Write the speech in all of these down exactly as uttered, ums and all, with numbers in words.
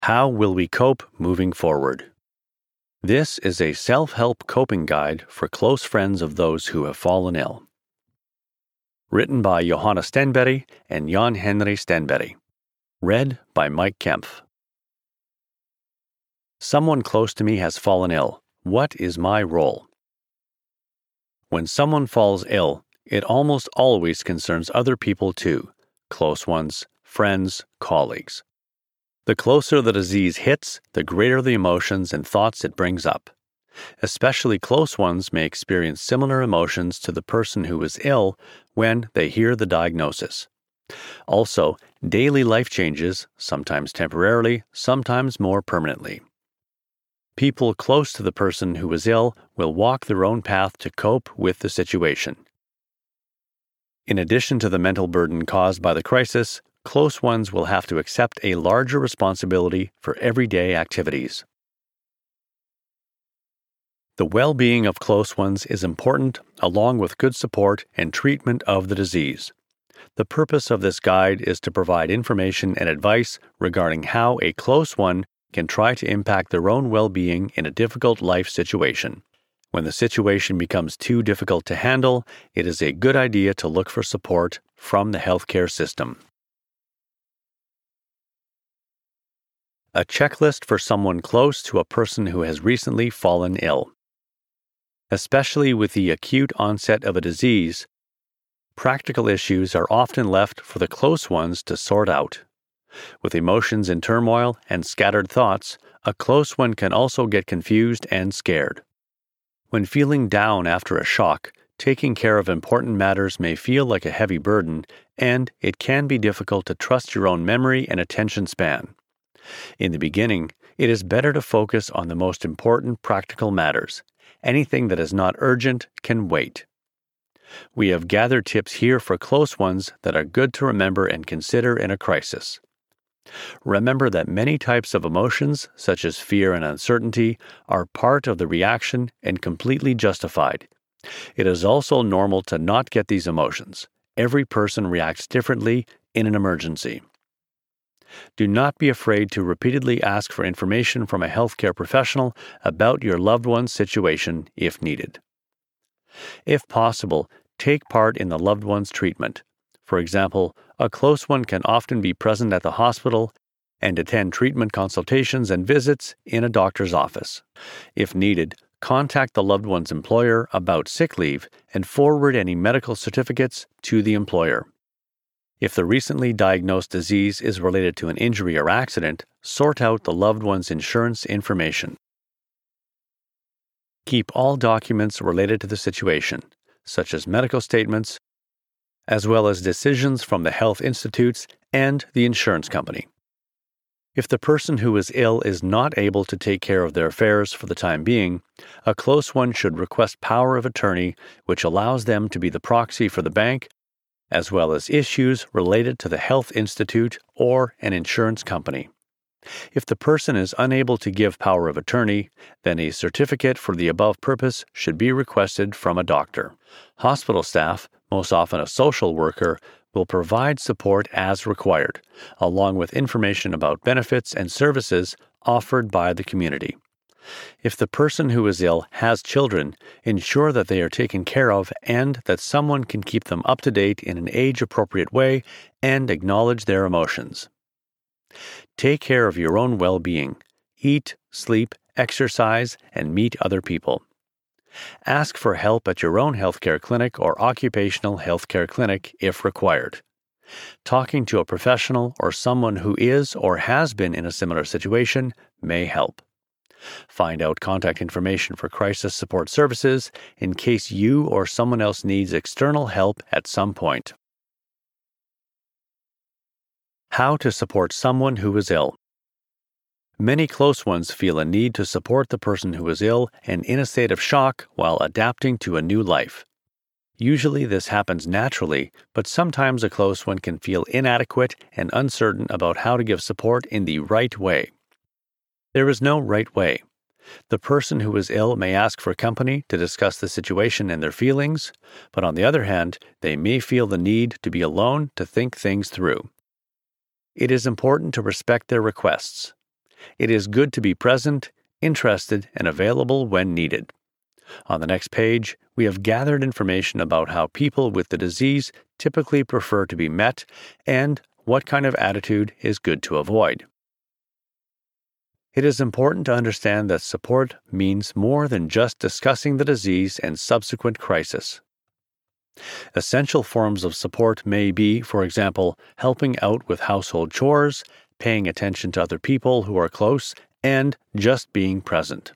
How will we cope moving forward? This is a self-help coping guide for close friends of those who have fallen ill. Written by Johanna Stenberry and Jan Henry Stenberry. Read by Mike Kempf. Someone close to me has fallen ill. What is my role? When someone falls ill, it almost always concerns other people too, close ones, friends, colleagues. The closer the disease hits, the greater the emotions and thoughts it brings up. Especially close ones may experience similar emotions to the person who is ill when they hear the diagnosis. Also, daily life changes, sometimes temporarily, sometimes more permanently. People close to the person who is ill will walk their own path to cope with the situation. In addition to the mental burden caused by the crisis, close ones will have to accept a larger responsibility for everyday activities. The well-being of close ones is important, along with good support and treatment of the disease. The purpose of this guide is to provide information and advice regarding how a close one can try to impact their own well-being in a difficult life situation. When the situation becomes too difficult to handle, it is a good idea to look for support from the healthcare system. A checklist for someone close to a person who has recently fallen ill. Especially with the acute onset of a disease, practical issues are often left for the close ones to sort out. With emotions in turmoil and scattered thoughts, a close one can also get confused and scared. When feeling down after a shock, taking care of important matters may feel like a heavy burden, and it can be difficult to trust your own memory and attention span. In the beginning, it is better to focus on the most important practical matters. Anything that is not urgent can wait. We have gathered tips here for close ones that are good to remember and consider in a crisis. Remember that many types of emotions, such as fear and uncertainty, are part of the reaction and completely justified. It is also normal to not get these emotions. Every person reacts differently in an emergency. Do not be afraid to repeatedly ask for information from a healthcare professional about your loved one's situation if needed. If possible, take part in the loved one's treatment. For example, a close one can often be present at the hospital and attend treatment consultations and visits in a doctor's office. If needed, contact the loved one's employer about sick leave and forward any medical certificates to the employer. If the recently diagnosed disease is related to an injury or accident, sort out the loved one's insurance information. Keep all documents related to the situation, such as medical statements, as well as decisions from the health institutes and the insurance company. If the person who is ill is not able to take care of their affairs for the time being, a close one should request power of attorney, which allows them to be the proxy for the bank, as well as issues related to the health institute or an insurance company. If the person is unable to give power of attorney, then a certificate for the above purpose should be requested from a doctor. Hospital staff, most often a social worker, will provide support as required, along with information about benefits and services offered by the community. If the person who is ill has children, ensure that they are taken care of and that someone can keep them up to date in an age-appropriate way and acknowledge their emotions. Take care of your own well-being. Eat, sleep, exercise, and meet other people. Ask for help at your own healthcare clinic or occupational healthcare clinic if required. Talking to a professional or someone who is or has been in a similar situation may help. Find out contact information for crisis support services in case you or someone else needs external help at some point. How to support someone who is ill. Many close ones feel a need to support the person who is ill and in a state of shock while adapting to a new life. Usually this happens naturally, but sometimes a close one can feel inadequate and uncertain about how to give support in the right way. There is no right way. The person who is ill may ask for company to discuss the situation and their feelings, but on the other hand, they may feel the need to be alone to think things through. It is important to respect their requests. It is good to be present, interested, and available when needed. On the next page, we have gathered information about how people with the disease typically prefer to be met and what kind of attitude is good to avoid. It is important to understand that support means more than just discussing the disease and subsequent crisis. Essential forms of support may be, for example, helping out with household chores, paying attention to other people who are close, and just being present.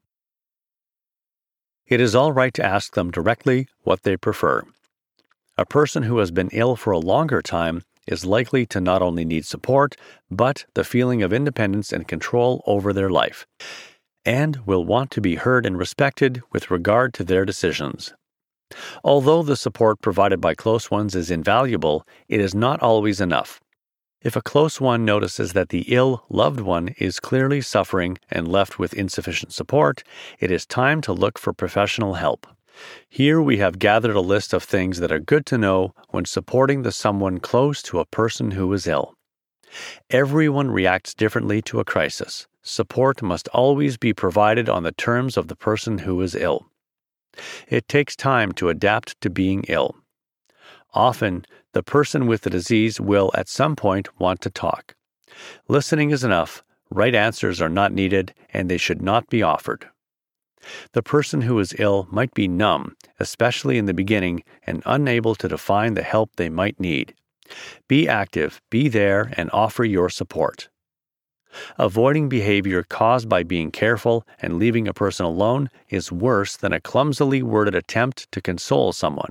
It is all right to ask them directly what they prefer. A person who has been ill for a longer time is likely to not only need support, but the feeling of independence and control over their life, and will want to be heard and respected with regard to their decisions. Although the support provided by close ones is invaluable, it is not always enough. If a close one notices that the ill loved one is clearly suffering and left with insufficient support, it is time to look for professional help. Here we have gathered a list of things that are good to know when supporting the someone close to a person who is ill. Everyone reacts differently to a crisis. Support must always be provided on the terms of the person who is ill. It takes time to adapt to being ill. Often, the person with the disease will at some point want to talk. Listening is enough, right answers are not needed, and they should not be offered. The person who is ill might be numb, especially in the beginning, and unable to define the help they might need. Be active, be there, and offer your support. Avoiding behavior caused by being careful and leaving a person alone is worse than a clumsily worded attempt to console someone.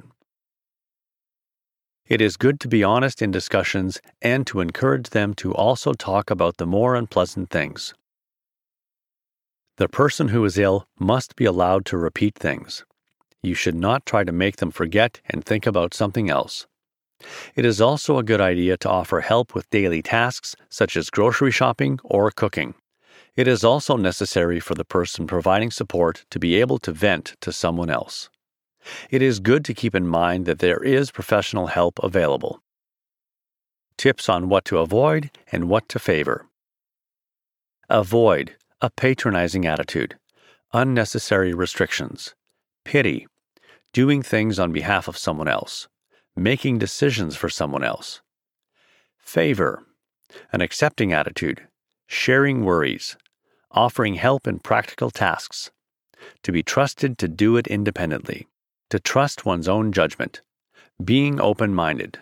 It is good to be honest in discussions and to encourage them to also talk about the more unpleasant things. The person who is ill must be allowed to repeat things. You should not try to make them forget and think about something else. It is also a good idea to offer help with daily tasks such as grocery shopping or cooking. It is also necessary for the person providing support to be able to vent to someone else. It is good to keep in mind that there is professional help available. Tips on what to avoid and what to favor. Avoid a patronizing attitude, unnecessary restrictions, pity, doing things on behalf of someone else, making decisions for someone else. Favor, an accepting attitude, sharing worries, offering help in practical tasks, to be trusted to do it independently, to trust one's own judgment, being open-minded.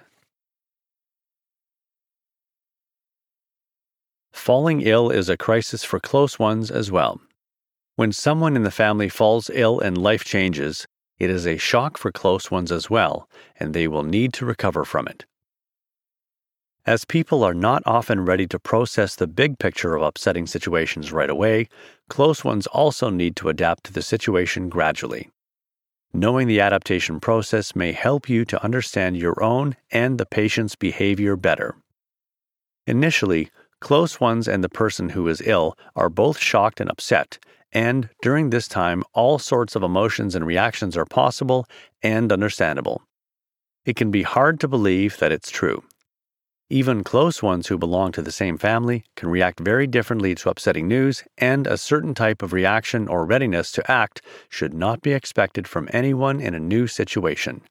Falling ill is a crisis for close ones as well. When someone in the family falls ill and life changes, it is a shock for close ones as well, and they will need to recover from it. As people are not often ready to process the big picture of upsetting situations right away, close ones also need to adapt to the situation gradually. Knowing the adaptation process may help you to understand your own and the patient's behavior better. Initially, close ones and the person who is ill are both shocked and upset, and during this time, all sorts of emotions and reactions are possible and understandable. It can be hard to believe that it's true. Even close ones who belong to the same family can react very differently to upsetting news, and a certain type of reaction or readiness to act should not be expected from anyone in a new situation.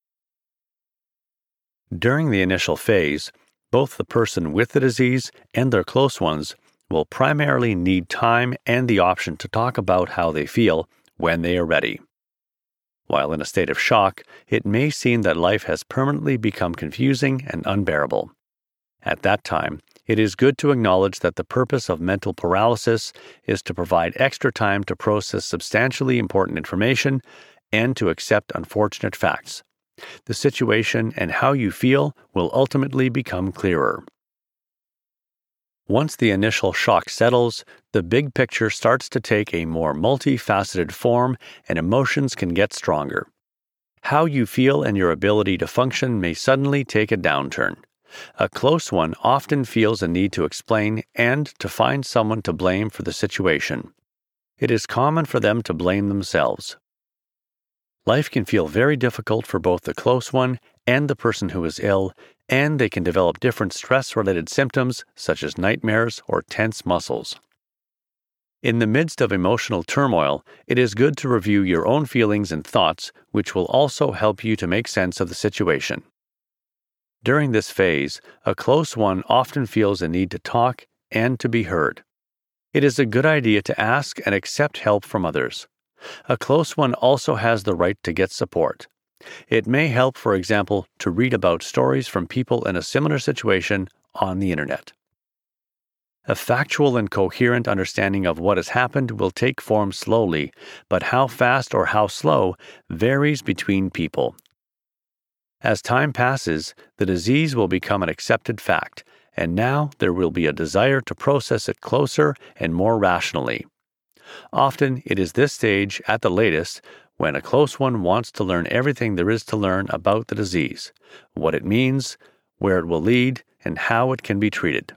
During the initial phase, both the person with the disease and their close ones will primarily need time and the option to talk about how they feel when they are ready. While in a state of shock, it may seem that life has permanently become confusing and unbearable. At that time, it is good to acknowledge that the purpose of mental paralysis is to provide extra time to process substantially important information and to accept unfortunate facts. The situation and how you feel will ultimately become clearer. Once the initial shock settles, the big picture starts to take a more multifaceted form and emotions can get stronger. How you feel and your ability to function may suddenly take a downturn. A close one often feels a need to explain and to find someone to blame for the situation. It is common for them to blame themselves. Life can feel very difficult for both the close one and the person who is ill, and they can develop different stress-related symptoms such as nightmares or tense muscles. In the midst of emotional turmoil, it is good to review your own feelings and thoughts, which will also help you to make sense of the situation. During this phase, a close one often feels a need to talk and to be heard. It is a good idea to ask and accept help from others. A close one also has the right to get support. It may help, for example, to read about stories from people in a similar situation on the internet. A factual and coherent understanding of what has happened will take form slowly, but how fast or how slow varies between people. As time passes, the disease will become an accepted fact, and now there will be a desire to process it closer and more rationally. Often it is this stage, at the latest, when a close one wants to learn everything there is to learn about the disease, what it means, where it will lead, and how it can be treated.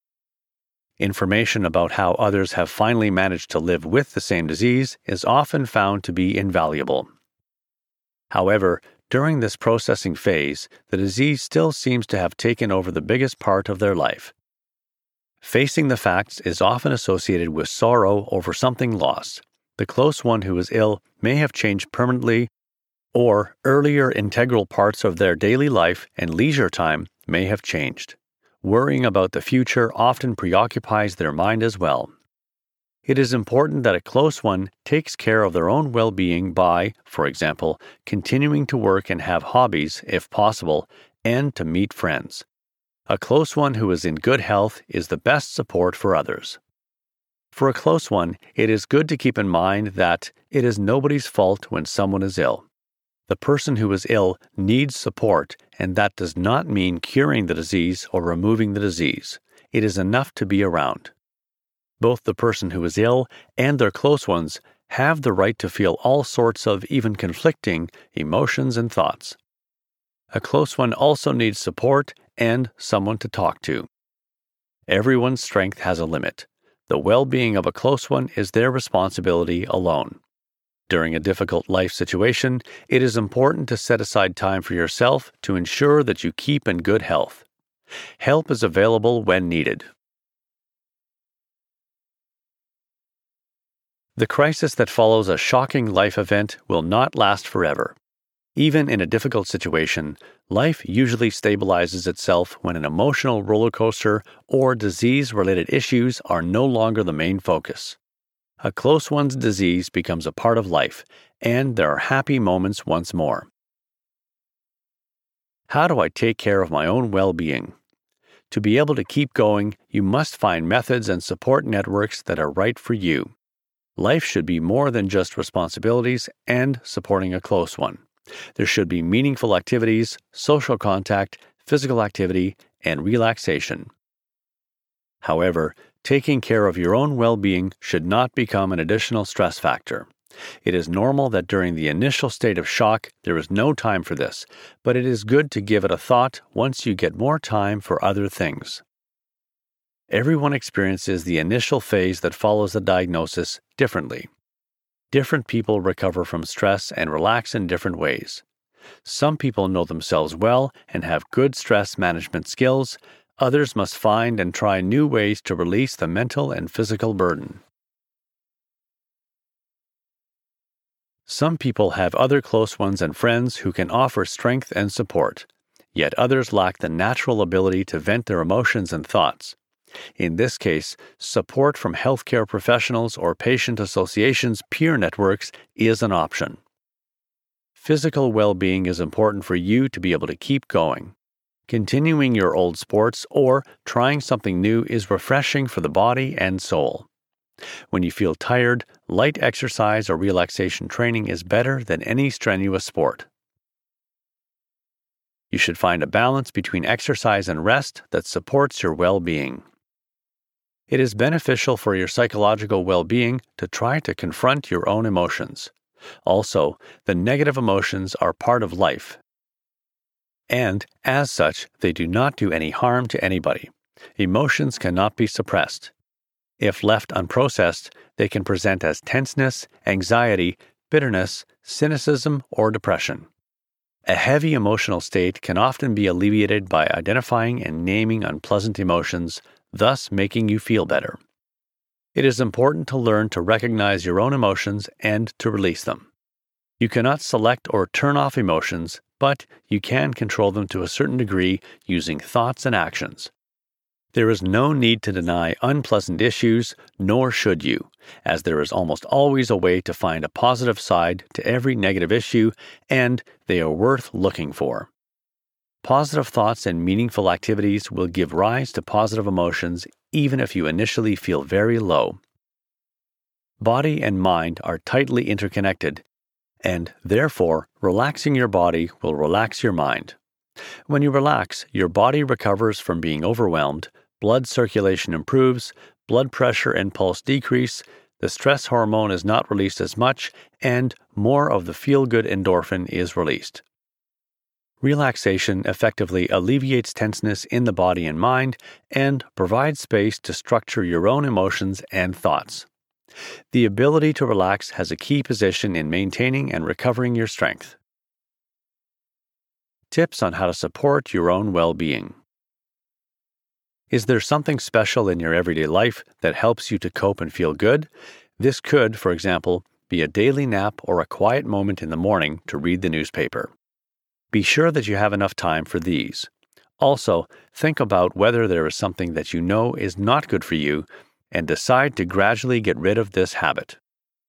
Information about how others have finally managed to live with the same disease is often found to be invaluable. However, during this processing phase, the disease still seems to have taken over the biggest part of their life. Facing the facts is often associated with sorrow over something lost. The close one who is ill may have changed permanently, or earlier integral parts of their daily life and leisure time may have changed. Worrying about the future often preoccupies their mind as well. It is important that a close one takes care of their own well-being by, for example, continuing to work and have hobbies, if possible, and to meet friends. A close one who is in good health is the best support for others. For a close one, it is good to keep in mind that it is nobody's fault when someone is ill. The person who is ill needs support, and that does not mean curing the disease or removing the disease. It is enough to be around. Both the person who is ill and their close ones have the right to feel all sorts of even conflicting emotions and thoughts. A close one also needs support and someone to talk to. Everyone's strength has a limit. The well-being of a close one is their responsibility alone. During a difficult life situation, it is important to set aside time for yourself to ensure that you keep in good health. Help is available when needed. The crisis that follows a shocking life event will not last forever. Even in a difficult situation, life usually stabilizes itself when an emotional roller coaster or disease-related issues are no longer the main focus. A close one's disease becomes a part of life, and there are happy moments once more. How do I take care of my own well-being? To be able to keep going, you must find methods and support networks that are right for you. Life should be more than just responsibilities and supporting a close one. There should be meaningful activities, social contact, physical activity, and relaxation. However, taking care of your own well-being should not become an additional stress factor. It is normal that during the initial state of shock, there is no time for this, but it is good to give it a thought once you get more time for other things. Everyone experiences the initial phase that follows the diagnosis differently. Different people recover from stress and relax in different ways. Some people know themselves well and have good stress management skills. Others must find and try new ways to release the mental and physical burden. Some people have other close ones and friends who can offer strength and support, yet others lack the natural ability to vent their emotions and thoughts. In this case, support from healthcare professionals or patient associations' peer networks is an option. Physical well-being is important for you to be able to keep going. Continuing your old sports or trying something new is refreshing for the body and soul. When you feel tired, light exercise or relaxation training is better than any strenuous sport. You should find a balance between exercise and rest that supports your well-being. It is beneficial for your psychological well-being to try to confront your own emotions. Also, the negative emotions are part of life, and, as such, they do not do any harm to anybody. Emotions cannot be suppressed. If left unprocessed, they can present as tenseness, anxiety, bitterness, cynicism, or depression. A heavy emotional state can often be alleviated by identifying and naming unpleasant emotions, thus making you feel better. It is important to learn to recognize your own emotions and to release them. You cannot select or turn off emotions, but you can control them to a certain degree using thoughts and actions. There is no need to deny unpleasant issues, nor should you, as there is almost always a way to find a positive side to every negative issue, and they are worth looking for. Positive thoughts and meaningful activities will give rise to positive emotions even if you initially feel very low. Body and mind are tightly interconnected, and therefore, relaxing your body will relax your mind. When you relax, your body recovers from being overwhelmed, blood circulation improves, blood pressure and pulse decrease, the stress hormone is not released as much, and more of the feel-good endorphin is released. Relaxation effectively alleviates tenseness in the body and mind and provides space to structure your own emotions and thoughts. The ability to relax has a key position in maintaining and recovering your strength. Tips on how to support your own well-being. Is there something special in your everyday life that helps you to cope and feel good? This could, for example, be a daily nap or a quiet moment in the morning to read the newspaper. Be sure that you have enough time for these. Also, think about whether there is something that you know is not good for you and decide to gradually get rid of this habit.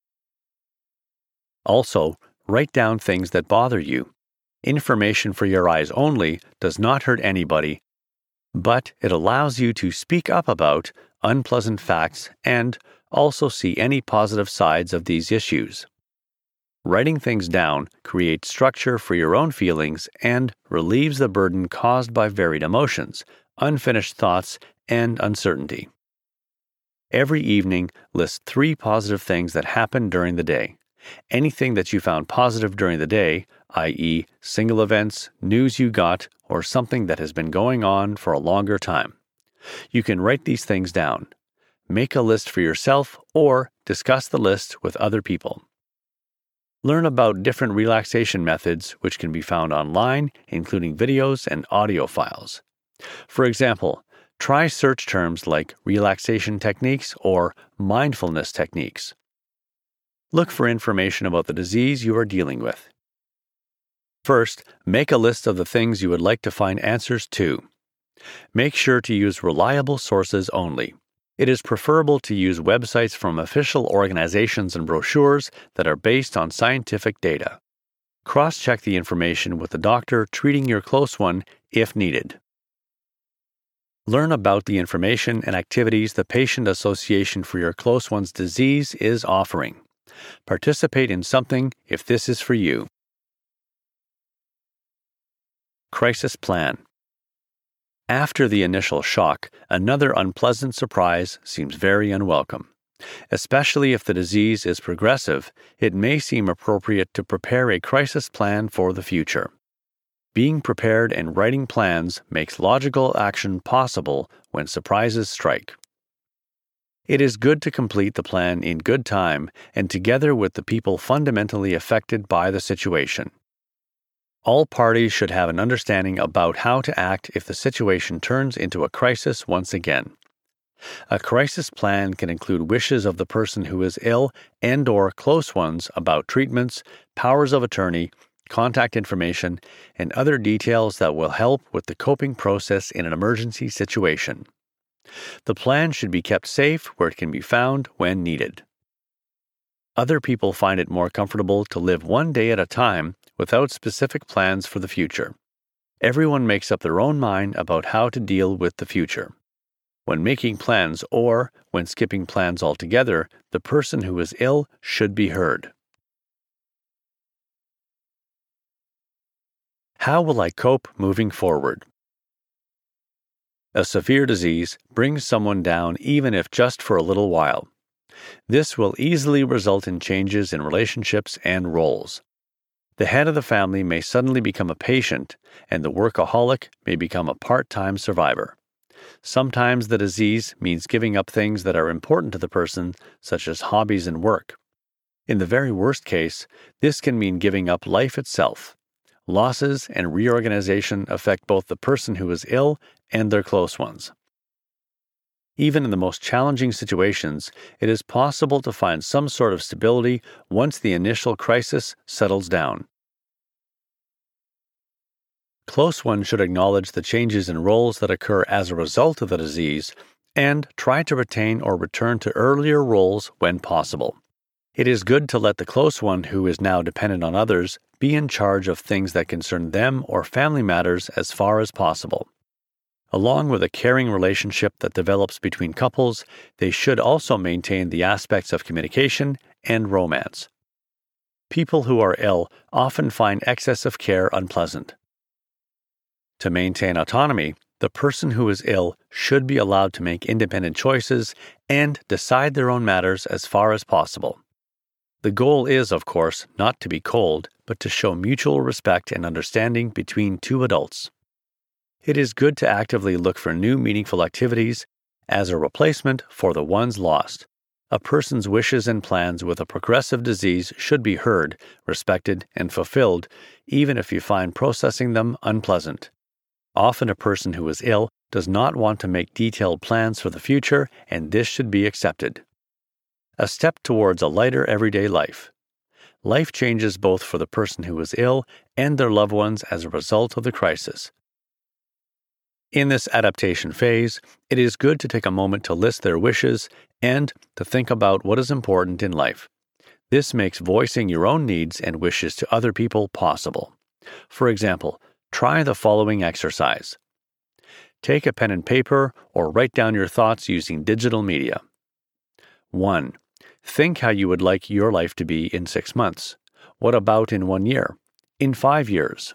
Also, write down things that bother you. Information for your eyes only does not hurt anybody, but it allows you to speak up about unpleasant facts and also see any positive sides of these issues. Writing things down creates structure for your own feelings and relieves the burden caused by varied emotions, unfinished thoughts, and uncertainty. Every evening, list three positive things that happened during the day. Anything that you found positive during the day, that is, single events, news you got, or something that has been going on for a longer time. You can write these things down. Make a list for yourself or discuss the list with other people. Learn about different relaxation methods which can be found online, including videos and audio files. For example, try search terms like relaxation techniques or mindfulness techniques. Look for information about the disease you are dealing with. First, make a list of the things you would like to find answers to. Make sure to use reliable sources only. It is preferable to use websites from official organizations and brochures that are based on scientific data. Cross-check the information with the doctor treating your close one if needed. Learn about the information and activities the Patient Association for Your Close One's Disease is offering. Participate in something if this is for you. Crisis plan. After the initial shock, another unpleasant surprise seems very unwelcome. Especially if the disease is progressive, it may seem appropriate to prepare a crisis plan for the future. Being prepared and writing plans makes logical action possible when surprises strike. It is good to complete the plan in good time and together with the people fundamentally affected by the situation. All parties should have an understanding about how to act if the situation turns into a crisis once again. A crisis plan can include wishes of the person who is ill and/or close ones about treatments, powers of attorney, contact information, and other details that will help with the coping process in an emergency situation. The plan should be kept safe where it can be found when needed. Other people find it more comfortable to live one day at a time without specific plans for the future. Everyone makes up their own mind about how to deal with the future. When making plans or when skipping plans altogether, the person who is ill should be heard. How will I cope moving forward? A severe disease brings someone down even if just for a little while. This will easily result in changes in relationships and roles. The head of the family may suddenly become a patient, and the workaholic may become a part-time survivor. Sometimes the disease means giving up things that are important to the person, such as hobbies and work. In the very worst case, this can mean giving up life itself. Losses and reorganization affect both the person who is ill and their close ones. Even in the most challenging situations, it is possible to find some sort of stability once the initial crisis settles down. Close ones should acknowledge the changes in roles that occur as a result of the disease and try to retain or return to earlier roles when possible. It is good to let the close one who is now dependent on others be in charge of things that concern them or family matters as far as possible. Along with a caring relationship that develops between couples, they should also maintain the aspects of communication and romance. People who are ill often find excess of care unpleasant. To maintain autonomy, the person who is ill should be allowed to make independent choices and decide their own matters as far as possible. The goal is, of course, not to be cold, but to show mutual respect and understanding between two adults. It is good to actively look for new meaningful activities as a replacement for the ones lost. A person's wishes and plans with a progressive disease should be heard, respected, and fulfilled, even if you find processing them unpleasant. Often a person who is ill does not want to make detailed plans for the future, and this should be accepted. A step towards a lighter everyday life. Life changes both for the person who is ill and their loved ones as a result of the crisis. In this adaptation phase, it is good to take a moment to list their wishes and to think about what is important in life. This makes voicing your own needs and wishes to other people possible. For example, try the following exercise. Take a pen and paper or write down your thoughts using digital media. one. Think how you would like your life to be in six months. What about in one year? In five years?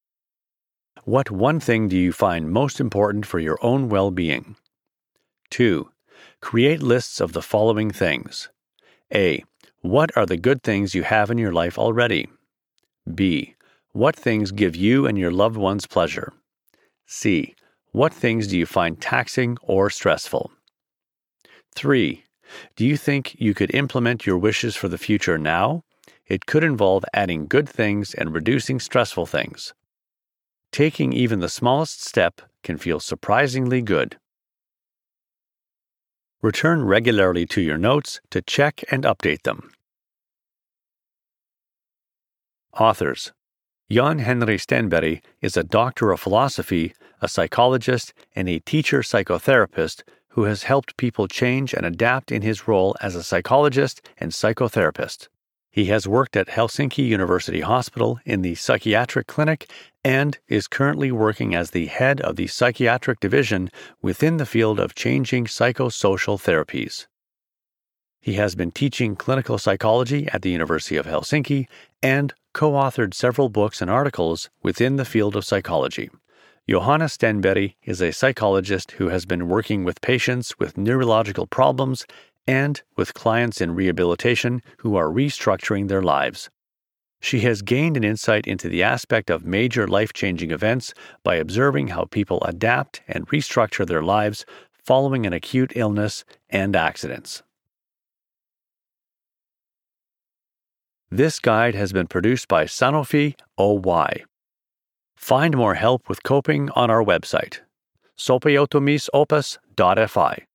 What one thing do you find most important for your own well-being? two. Create lists of the following things. A. What are the good things you have in your life already? B. What things give you and your loved ones pleasure? C. What things do you find taxing or stressful? three. Do you think you could implement your wishes for the future now? It could involve adding good things and reducing stressful things. Taking even the smallest step can feel surprisingly good. Return regularly to your notes to check and update them. Authors: Jan Henry Stenberg is a doctor of philosophy, a psychologist, and a teacher psychotherapist who has helped people change and adapt in his role as a psychologist and psychotherapist. He has worked at Helsinki University Hospital in the psychiatric clinic and is currently working as the head of the psychiatric division within the field of changing psychosocial therapies. He has been teaching clinical psychology at the University of Helsinki and co-authored several books and articles within the field of psychology. Johannes Stenberg is a psychologist who has been working with patients with neurological problems and with clients in rehabilitation who are restructuring their lives. She has gained an insight into the aspect of major life-changing events by observing how people adapt and restructure their lives following an acute illness and accidents. This guide has been produced by Sanofi O Y. Find more help with coping on our website, sopioutumisopus dot f i.